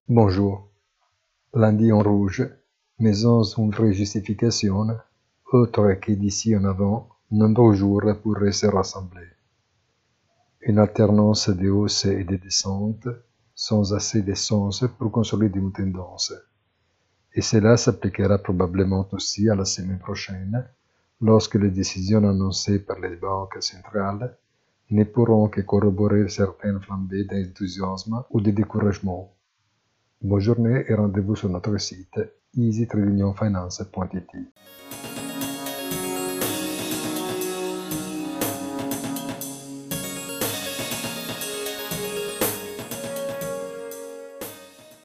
Bonjour. Lundi en rouge, mais sans une vraie justification, autre que d'ici en avant, nombreux jours pourraient se rassembler. Une alternance de hausses et de descentes, sans assez de sens pour consolider une tendance. Et cela s'appliquera probablement aussi à la semaine prochaine, lorsque les décisions annoncées par les banques centrales ne pourront que corroborer certaines flambées d'enthousiasme ou de découragement. Bonne journée et rendez-vous sur notre site easytradingfinance.it.